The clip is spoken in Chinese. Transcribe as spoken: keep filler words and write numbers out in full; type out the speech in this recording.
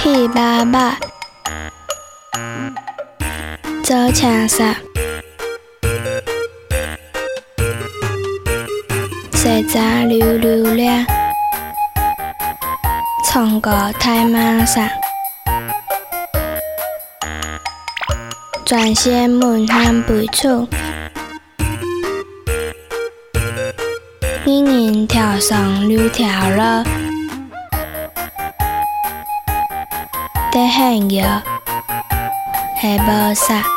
戏爸爸，做青衫，洗澡溜溜俩，唱歌太马上，专线门喊背出，人人跳上溜跳了。得很热，还无啥。